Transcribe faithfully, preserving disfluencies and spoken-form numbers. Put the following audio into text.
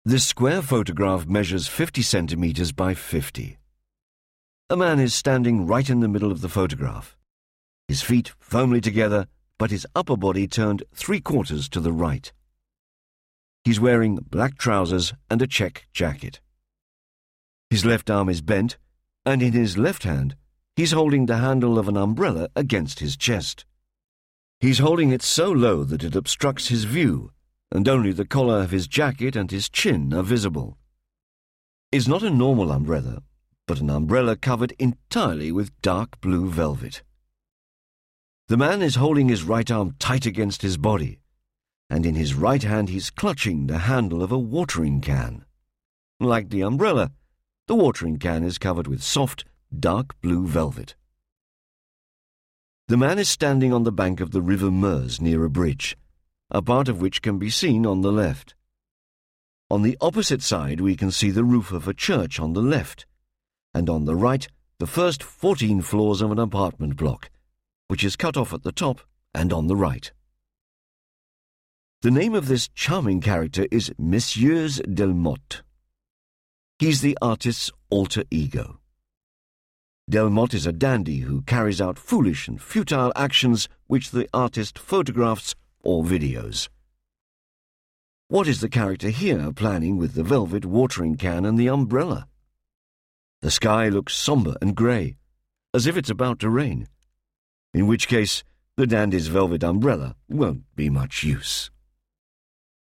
This square photograph measures fifty centimeters by fifty. A man is standing right in the middle of the photograph, his feet firmly together, but his upper body turned three quarters to the right. He's wearing black trousers and a check jacket. His left arm is bent, and in his left hand, he's holding the handle of an umbrella against his chest. He's holding it so low that it obstructs his view, and only the collar of his jacket and his chin are visible. It's not a normal umbrella, but an umbrella covered entirely with dark blue velvet. The man is holding his right arm tight against his body, and in his right hand he's clutching the handle of a watering can. Like the umbrella, the watering can is covered with soft, dark blue velvet. The man is standing on the bank of the River Meuse near a bridge, a part of which can be seen on the left. On the opposite side we can see the roof of a church on the left, and on the right the first fourteen floors of an apartment block, which is cut off at the top and on the right. The name of this charming character is Messieurs Delmotte. He's the artist's alter ego. Delmotte is a dandy who carries out foolish and futile actions which the artist photographs or videos. What is the character here planning with the velvet watering can and the umbrella? The sky looks sombre and grey, as if it's about to rain, in which case the dandy's velvet umbrella won't be much use.